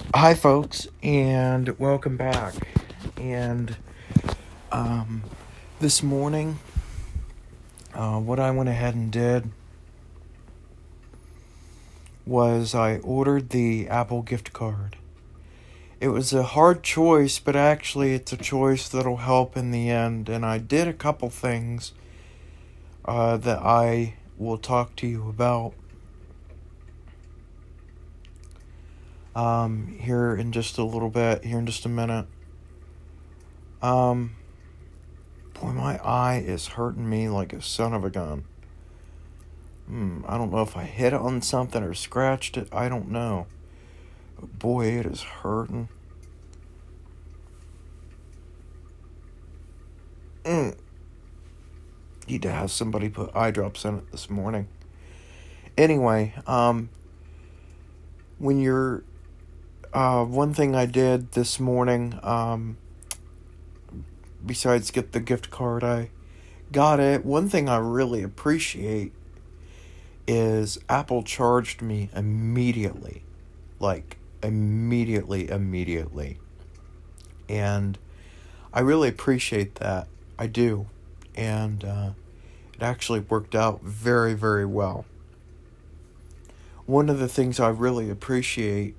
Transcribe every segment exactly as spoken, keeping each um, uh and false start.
Hi, folks, and welcome back. And um, this morning, uh, what I went ahead and did was I ordered the Apple gift card. It was a hard choice, but actually, it's a choice that'll help in the end. And I did a couple things uh, that I will talk to you about um, here in just a little bit, here in just a minute. Um, boy, my eye is hurting me like a son of a gun. Hmm, I don't know if I hit it on something or scratched it. I don't know. But boy, it is hurting. Mm. Need to have somebody put eye drops in it this morning. Anyway, um, when you're, uh, one thing I did this morning, um, besides get the gift card, I got it. One thing I really appreciate is Apple charged me immediately. Like, immediately, immediately. And I really appreciate that. I do. And uh, it actually worked out very, very well. One of the things I really appreciate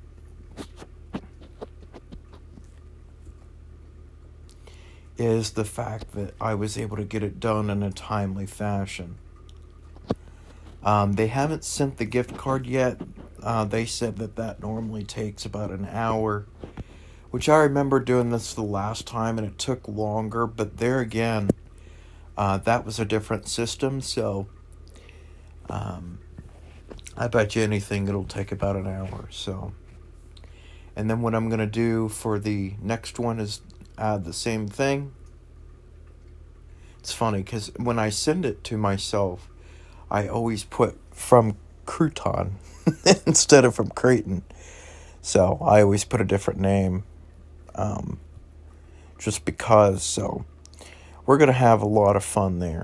is the fact that I was able to get it done in a timely fashion. Um, they haven't sent the gift card yet. Uh, they said that that normally takes about an hour, which I remember doing this the last time and it took longer, but there again, uh, that was a different system, so um, I bet you anything it'll take about an hour, so. And then what I'm going to do for the next one is add the same thing. It's funny because when I send it to myself, I always put from Crouton instead of from Creighton. So I always put a different name um, just because. So we're going to have a lot of fun there.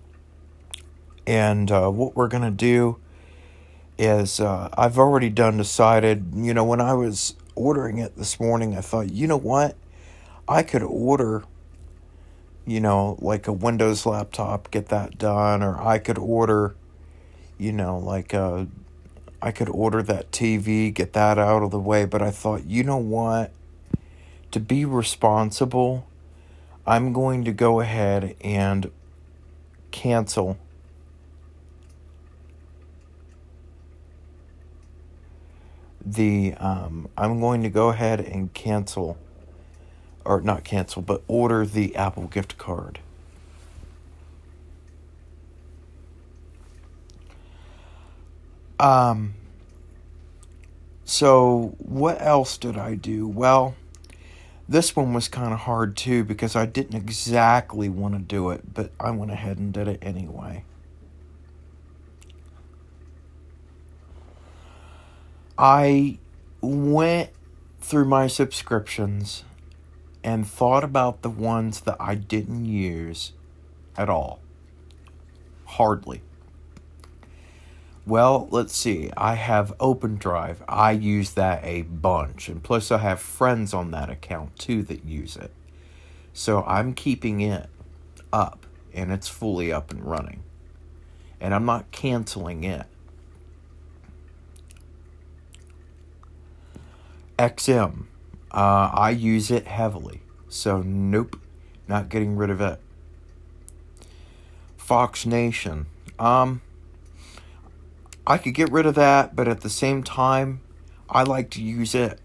And uh, what we're going to do is uh, I've already done decided, you know, when I was ordering it this morning, I thought, you know what? I could order, you know, like a Windows laptop, get that done, or I could order, you know, like a, I could order that T V, get that out of the way, but I thought, you know what? To be responsible, I'm going to go ahead and cancel the, um, I'm going to go ahead and cancel, or not cancel, but order the Apple gift card. Um, so what else did I do? Well, this one was kind of hard too because I didn't exactly want to do it, but I went ahead and did it anyway. I went through my subscriptions and thought about the ones that I didn't use at all. Hardly. Well, let's see. I have OpenDrive. I use that a bunch. And plus I have friends on that account too that use it. So I'm keeping it up. And it's fully up and running. And I'm not canceling it. X M. Uh, I use it heavily. So nope. Not getting rid of it. Fox Nation. Um... I could get rid of that, but at the same time, I like to use it,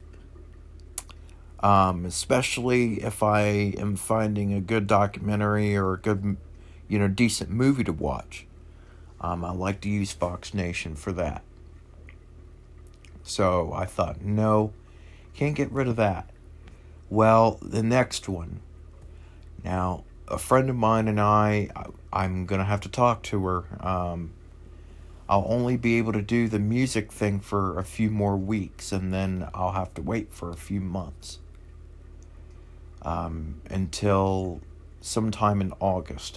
um, especially if I am finding a good documentary or a good, you know, decent movie to watch. Um, I like to use Fox Nation for that. So I thought, no, can't get rid of that. Well, the next one. Now, a friend of mine and I, I'm going to have to talk to her, um... I'll only be able to do the music thing for a few more weeks, and then I'll have to wait for a few months. Um, until sometime in August.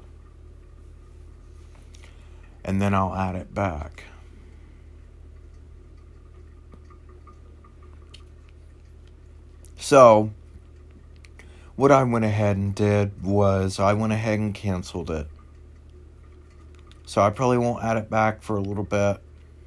And then I'll add it back. So, what I went ahead and did was I went ahead and canceled it. So I probably won't add it back for a little bit.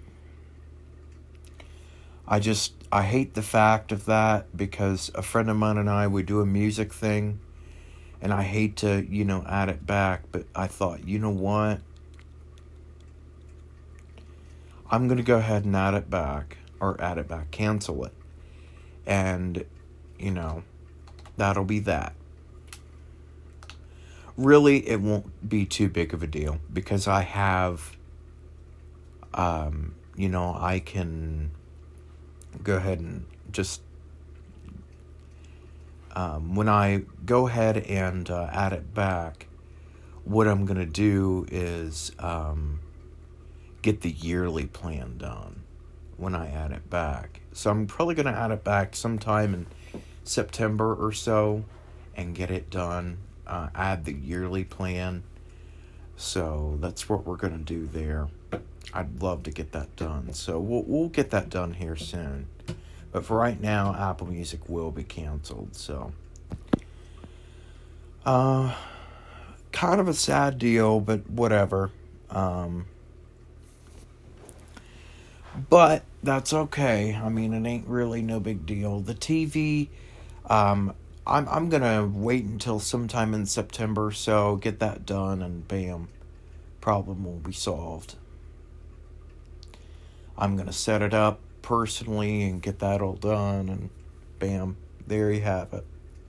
I just, I hate the fact of that because a friend of mine and I, we do a music thing. And I hate to, you know, add it back. But I thought, you know what? I'm going to go ahead and add it back. Or add it back. Cancel it. And, you know, that'll be that. Really, it won't be too big of a deal. Because I have, um, you know, I can go ahead and just, um, when I go ahead and uh, add it back, what I'm going to do is um, get the yearly plan done when I add it back. So I'm probably going to add it back sometime in September or so and get it done. Uh, add the yearly plan. So that's what we're going to do there. I'd love to get that done. So we'll we'll get that done here soon. But for right now, Apple Music will be canceled. So, uh, kind of a sad deal, but whatever. Um, but that's okay. I mean, it ain't really no big deal. The T V, um, I'm I'm gonna wait until sometime in September, so get that done, and bam, problem will be solved. I'm gonna set it up personally and get that all done, and bam, there you have it.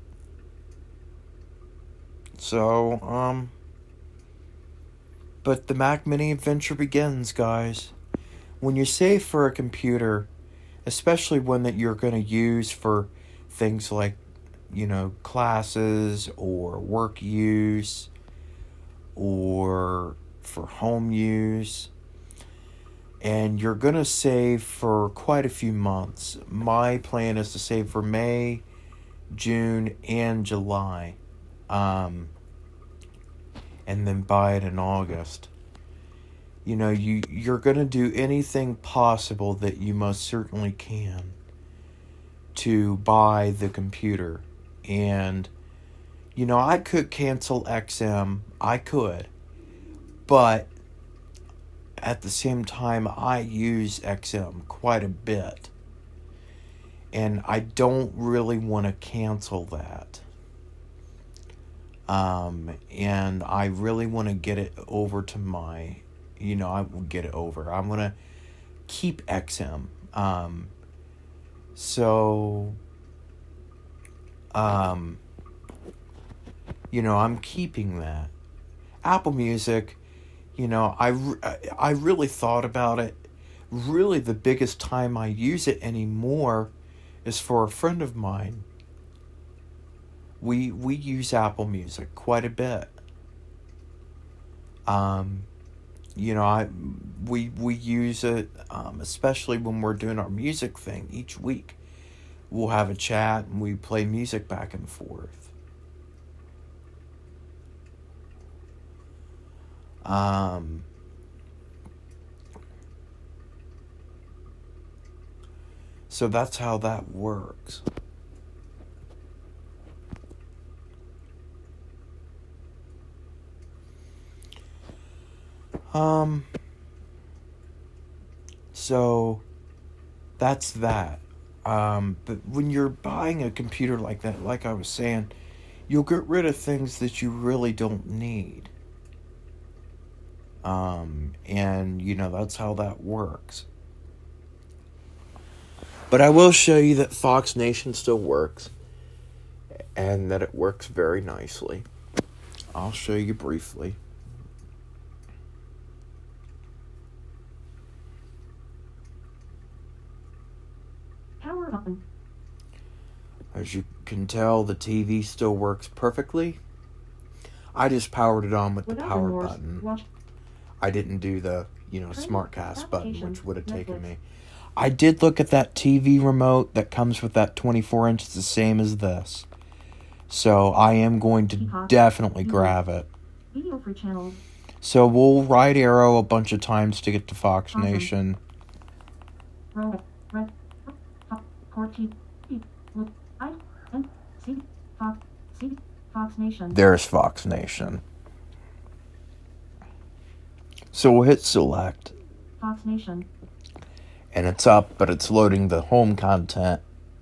So, um, but the Mac Mini adventure begins, guys. When you save for a computer, especially one that you're going to use for things like, you know, classes or work use or for home use, and you're going to save for quite a few months. My plan is to save for May, June, and July. Um, and then buy it in August. You know, you, you're going to do anything possible that you most certainly can to buy the computer. And, you know, I could cancel X M. I could. But at the same time, I use X M quite a bit. And I don't really want to cancel that. Um, and I really want to get it over to my, you know, I will get it over. I'm going to keep X M. Um, so, um, you know, I'm keeping that. Apple Music, you know, I, I really thought about it. Really, the biggest time I use it anymore is for a friend of mine. We we use Apple Music quite a bit. Um, you know, I we we use it, um, especially when we're doing our music thing each week. We'll have a chat and we play music back and forth. Um, so that's how that works. Um, so that's that. Um, but when you're buying a computer like that, like I was saying, you'll get rid of things that you really don't need. Um, and, you know, that's how that works. But I will show you that Fox Nation still works. And that it works very nicely. I'll show you briefly. Power on. As you can tell, the T V still works perfectly. I just powered it on with Without the power remorse, button. watch. I didn't do the, you know, Turn SmartCast button, application, which would have taken Netflix. me. I did look at that T V remote that comes with that twenty-four inch, the same as this. So I am going to Peacock. definitely Mhm. grab it. Video for channels. So we'll right arrow a bunch of times to get to Fox Awesome. Nation. Row. Red. Top. Core T. T. Look. I. And C Fox C Fox Nation. There's Fox Nation. So we'll hit select. Fox Nation. And it's up, but it's loading the home content.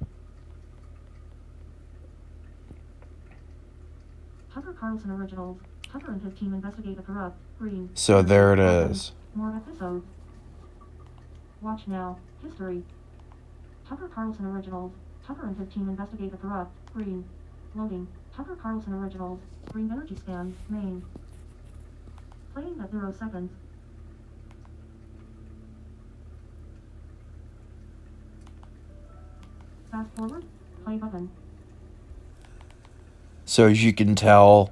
Tucker Carlson Originals. Tucker and his team investigate a corrupt green. So there it is. More episodes. Watch now. History. Tucker Carlson Originals. Tucker and his team investigate a corrupt green. Loading. Tucker Carlson Originals. Green Energy Scan. Main. Playing at zero seconds. Fast forward. Play button. So as you can tell,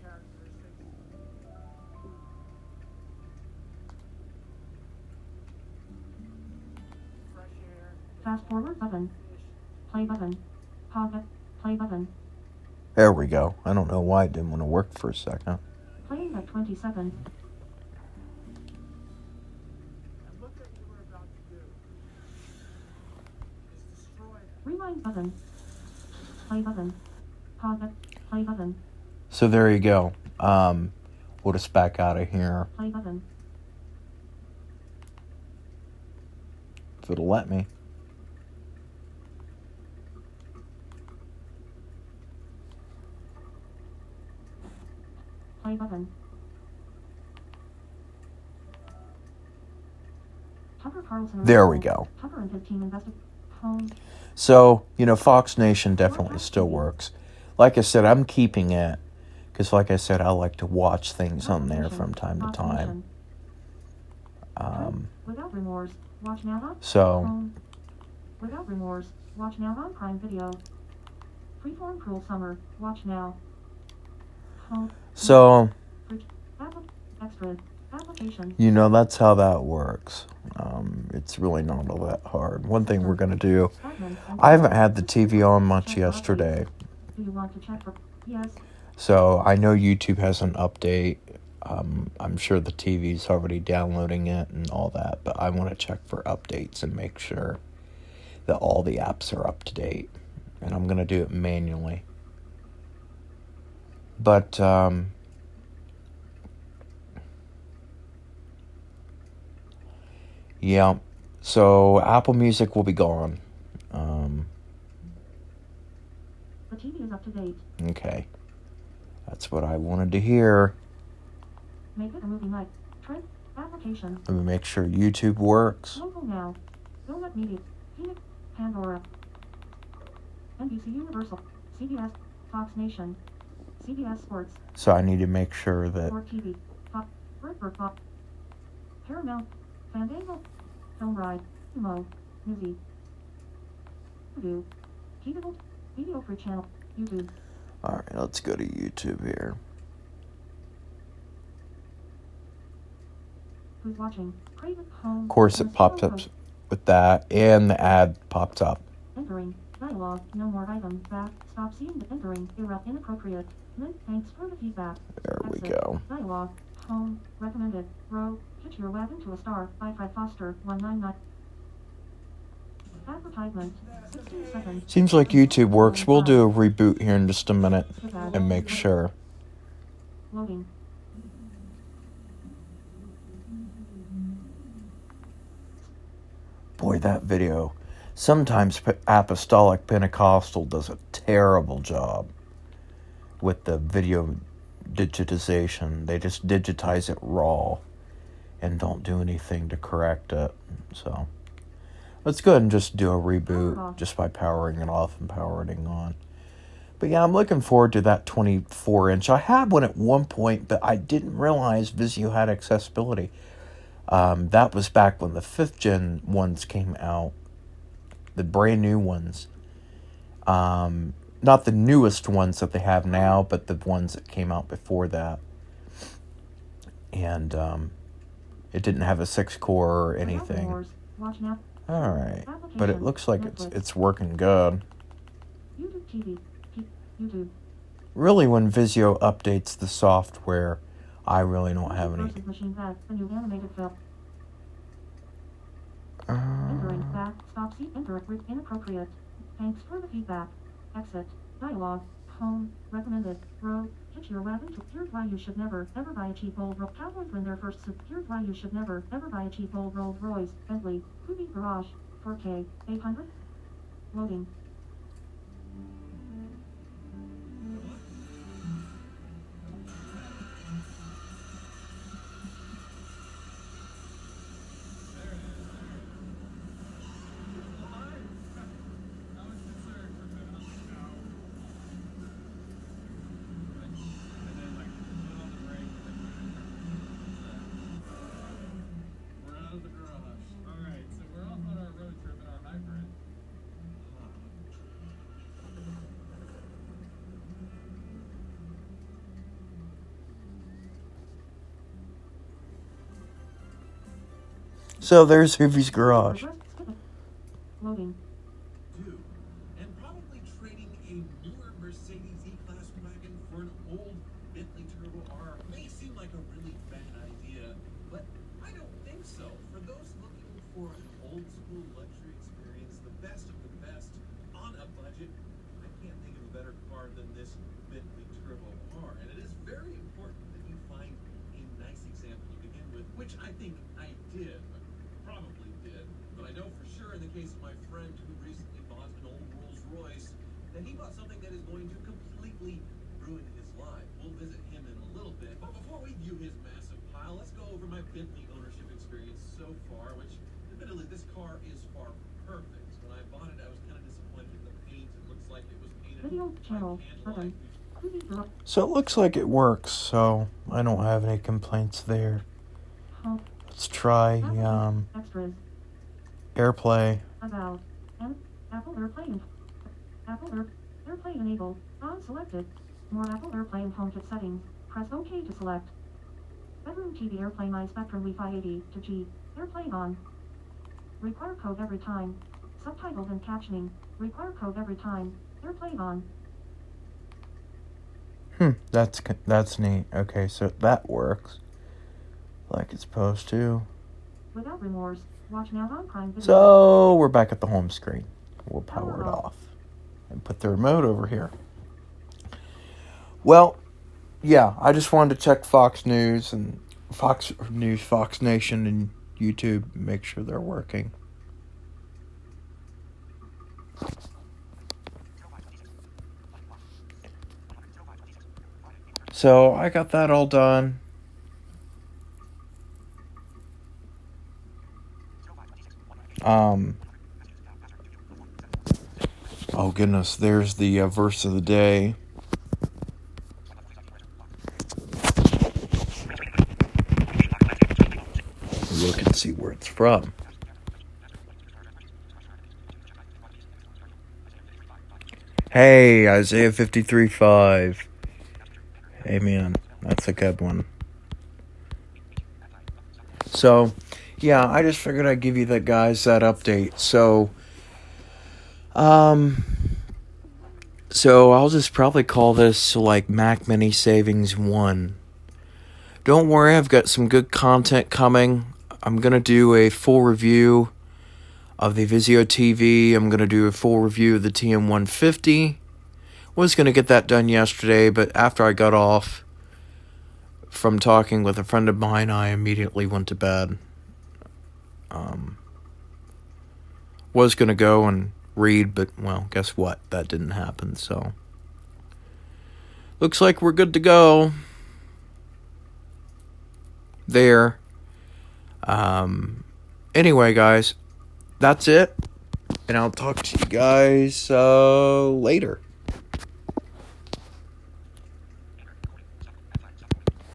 Fast forward button. Play button. Pause it. Play button. there we go. I don't know why it didn't want to work for a second. Playing at twenty seconds. And look at what we're about to do. Is destroy them. Rewind button. Play button. Pause it. Play button. So there you go. Um, we'll just back out of here Play button. if it'll let me. Play button. Tucker Carlson. There we Originals. go. Tucker and his team investigate. Home. So, you know, Fox Nation definitely still works. Like I said, I'm keeping it because, like I said, I like to watch things on there from time to Fox time. Nation. Um, Without remorse. Watch now on. so, Home. Without remorse. Watch now on Prime Video. Freeform Cruel Summer. Watch now. Home. so Apple. Extras. Applications. you know, that's how that works. Um, it's really not all that hard. One thing we're going to do, Fragments and- I haven't had the T V on much yesterday. Do you want to check for? Yes. So I know YouTube has an update. Um, I'm sure the T V's already downloading it and all that, but I want to check for updates and make sure that all the apps are up to date. And I'm going to do it manually. But, um, yeah, so Apple Music will be gone. Um, The T V is up to date. okay. That's what I wanted to hear. Make it a movie night. Trend. Application. Let me make sure YouTube works. Local now. Donut Media. Phoenix. Pandora. N B C Universal. C B S. Fox Nation. C B S Sports. So I need to make sure that Sport T V. Fox. Bird Fox. Paramount. Fandango. Film Ride. Mo. Newsy. Voodoo. Heatable. Video Free Channel. YouTube. Alright, let's go to YouTube here. Who's watching? Craven Home. Of course, it popped up with that, and the ad popped up. Entering. Dialogue. No more items. Back. Stop seeing the entering. Era inappropriate. Link. Thanks for the feedback. There we Exit. go. Dialogue. Home. Recommended. Row. Hitch your wagon to a star. By Fred Foster. one ninety-nine. Advertisement. sixteen seconds. Seems like YouTube works. We'll do a reboot here in just a minute and make sure. Loading. Boy, that video. Sometimes P- Apostolic Pentecostal does a terrible job with the video digitization. They just digitize it raw and don't do anything to correct it. So let's go ahead and just do a reboot just by powering it off and powering it on. But yeah, I'm looking forward to that twenty-four inch. I had one at one point, but I didn't realize Vizio had accessibility. Um, that was back when the fifth gen ones came out. The brand new ones. Um, not the newest ones that they have now, but the ones that came out before that. And um, it didn't have a six core or anything. Watch now. Alright. But it looks like it's it's working good. YouTube T V. P- YouTube. Really, when Vizio updates the software, I really don't have any. Versus Machine Vet, the new animated film. Uh, Entering. Back. Stop. See. Enter. Re- inappropriate. Thanks for the feedback. Exit. Dialogue. Home. Recommended. Road. Hitch your wagon to. Here's why you should never, ever buy a cheap old Rolls. Cowboys win their first suit. Here's why you should never, ever buy a cheap old Rolls Royce, Bentley, Coupe Garage, four K, eight hundred. Loading. So there's Hoovie's garage. Loading. Do, and probably trading a newer Mercedes E-Class wagon for an old Bentley Turbo R may seem like a really bad idea, but I don't think so. For those looking for an old-school luxury experience, the best of the best, on a budget, I can't think of a better car than this Bentley Turbo R. And it is very important that you find a nice example to begin with, which I think I did. Probably did, but I know for sure in the case of my friend who recently bought an old Rolls Royce that he bought something that is going to completely ruin his life. We'll visit him in a little bit, but before we view his massive pile, let's go over my Bentley ownership experience so far, which admittedly this car is far perfect. When I bought it, I was kind of disappointed in the paint. It looks like it was painted Video by channel button. candlelight. Coupe Garage. So it looks like it works, so I don't have any complaints there. Home. Let's try um, Extras. AirPlay. About. And Apple AirPlay. Apple Air, AirPlay enabled. On selected. More Apple AirPlay and HomeKit settings. Press OK to select. Bedroom T V AirPlay My Spectrum Wi-Fi eighty to G. AirPlay on. Require code every time. Subtitles and captioning. Require code every time. AirPlay on. Hmm, that's that's neat. Okay, so that works like it's supposed to. Without remorse. Watch now on Prime Video. So we're back at the home screen. We'll power it off and put the remote over here. Well, yeah, I just wanted to check Fox News and Fox News, Fox Nation, and YouTube, make sure they're working. So I got that all done. Um. Oh goodness, there's the uh, verse of the day. Look and see where it's from. Hey, Isaiah fifty-three five. Amen. That's a good one. So, yeah, I just figured I'd give you that, guys, that update. So, um, so I'll just probably call this like Mac Mini Savings one. Don't worry, I've got some good content coming. I'm going to do a full review of the Vizio T V. I'm going to do a full review of the T M one fifty. Was going to get that done yesterday, but after I got off from talking with a friend of mine, I immediately went to bed. Um, was going to go and read, but, well, guess what? That didn't happen, so. Looks like we're good to go. There. Um, anyway, guys, that's it. And I'll talk to you guys uh, later.